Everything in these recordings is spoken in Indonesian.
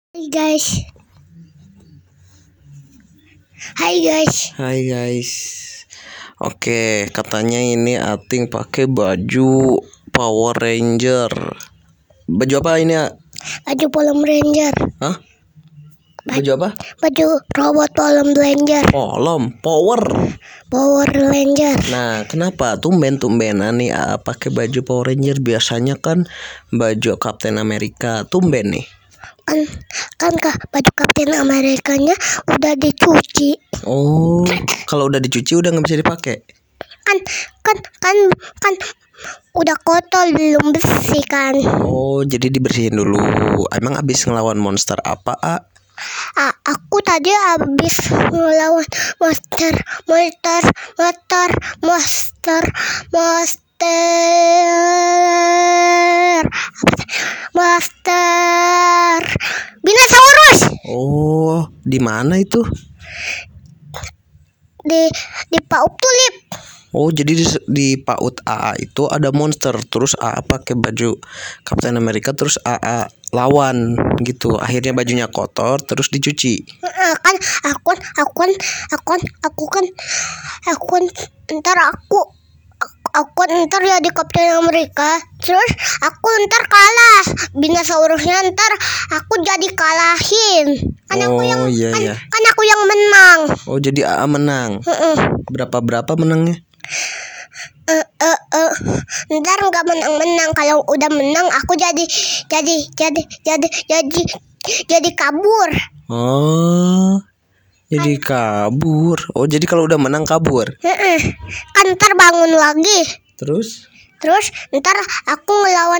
Hai guys. Hai guys. Hai guys. Oke, katanya ini Ating pakai baju Power Ranger. Baju apa ini ya? Baju Power Ranger. Hah? Baju apa? Baju robot Power Ranger. Power Ranger. Nah, kenapa tumben-tumbenan nih pakai baju Power Ranger? Biasanya kan baju Captain America. Tumben nih. Kan baju Captain Amerikanya udah dicuci. Oh, kalau udah dicuci udah nggak bisa dipakai. Kan udah kotor, belum bersih kan. Oh, jadi dibersihin dulu. Emang abis ngelawan monster apa, Aku tadi habis ngelawan monster. Binosaurus. Oh, di mana itu? Di Pauk Tulip. Oh, jadi di PAUD AA itu ada monster. Terus AA pakai baju Captain America, terus AA lawan gitu. Akhirnya bajunya kotor, terus dicuci. Kan aku ntar ya di Captain America, terus aku ntar kalah. Binosaurusnya ntar aku jadi kalahin. Kan aku yang menang. Oh, jadi AA menang. Berapa menangnya? Ntar nggak menang. Kalau udah menang aku jadi kabur. Oh, jadi kabur. Oh, jadi kalau udah menang kabur. Kan ntar bangun lagi. Terus ntar aku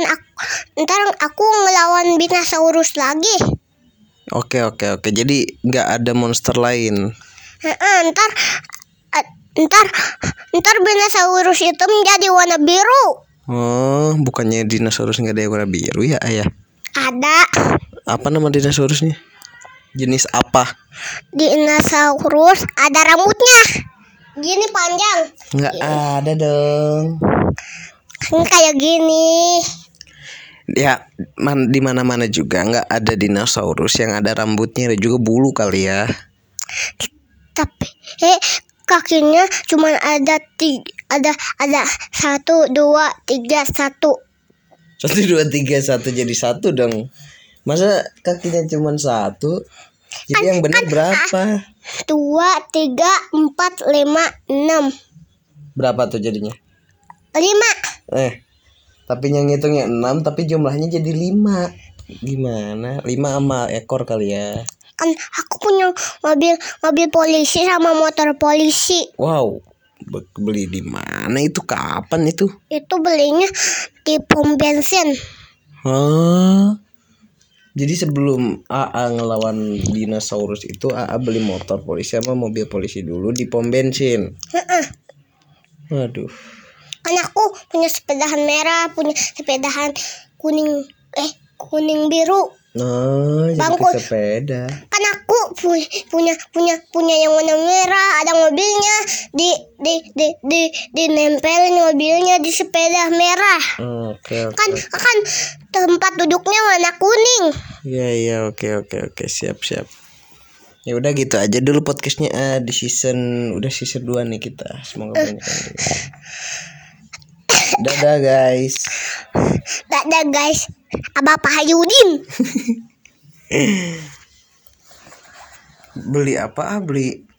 ngelawan Binosaurus lagi. Oke. Jadi nggak ada monster lain. Ntar Binosaurus itu menjadi warna biru. Oh, bukannya dinosaurus nggak ada yang warna biru ya, Ayah? Ada. Apa nama dinosaurusnya? Jenis apa? Dinosaurus ada rambutnya gini panjang. Nggak ada dong. Kan kayak gini. Ya, di mana-mana juga nggak ada dinosaurus yang ada rambutnya dan juga bulu kali ya. Tapi kakinya cuma ada 1, 2, 3, 1. 1, 2, 3, 1 jadi 1 dong. Masa kakinya cuma 1? Jadi yang benar berapa? 2, 3, 4, 5, 6. Berapa tuh jadinya? 5. Tapi yang ngitungnya 6 tapi jumlahnya jadi 5. Gimana? 5 sama ekor kali ya. Kan aku punya mobil polisi sama motor polisi. Wow. Beli di mana itu? Kapan itu? Itu belinya di pom bensin. Jadi sebelum AA ngelawan dinosaurus itu AA beli motor polisi sama mobil polisi dulu di pom bensin. Waduh. Kan aku punya sepedahan merah, punya sepedahan kuning biru. Jadi sepeda. Kan aku punya yang warna merah, ada mobilnya di nempelin mobilnya di sepeda merah. Oke. Kan tempat duduknya warna kuning. Iya, oke. Siap. Ya udah gitu aja dulu podcastnya di season 2 nih kita. Semoga banyak yang Dadah guys. Abah Pak Hayudin. Beli apa? Beli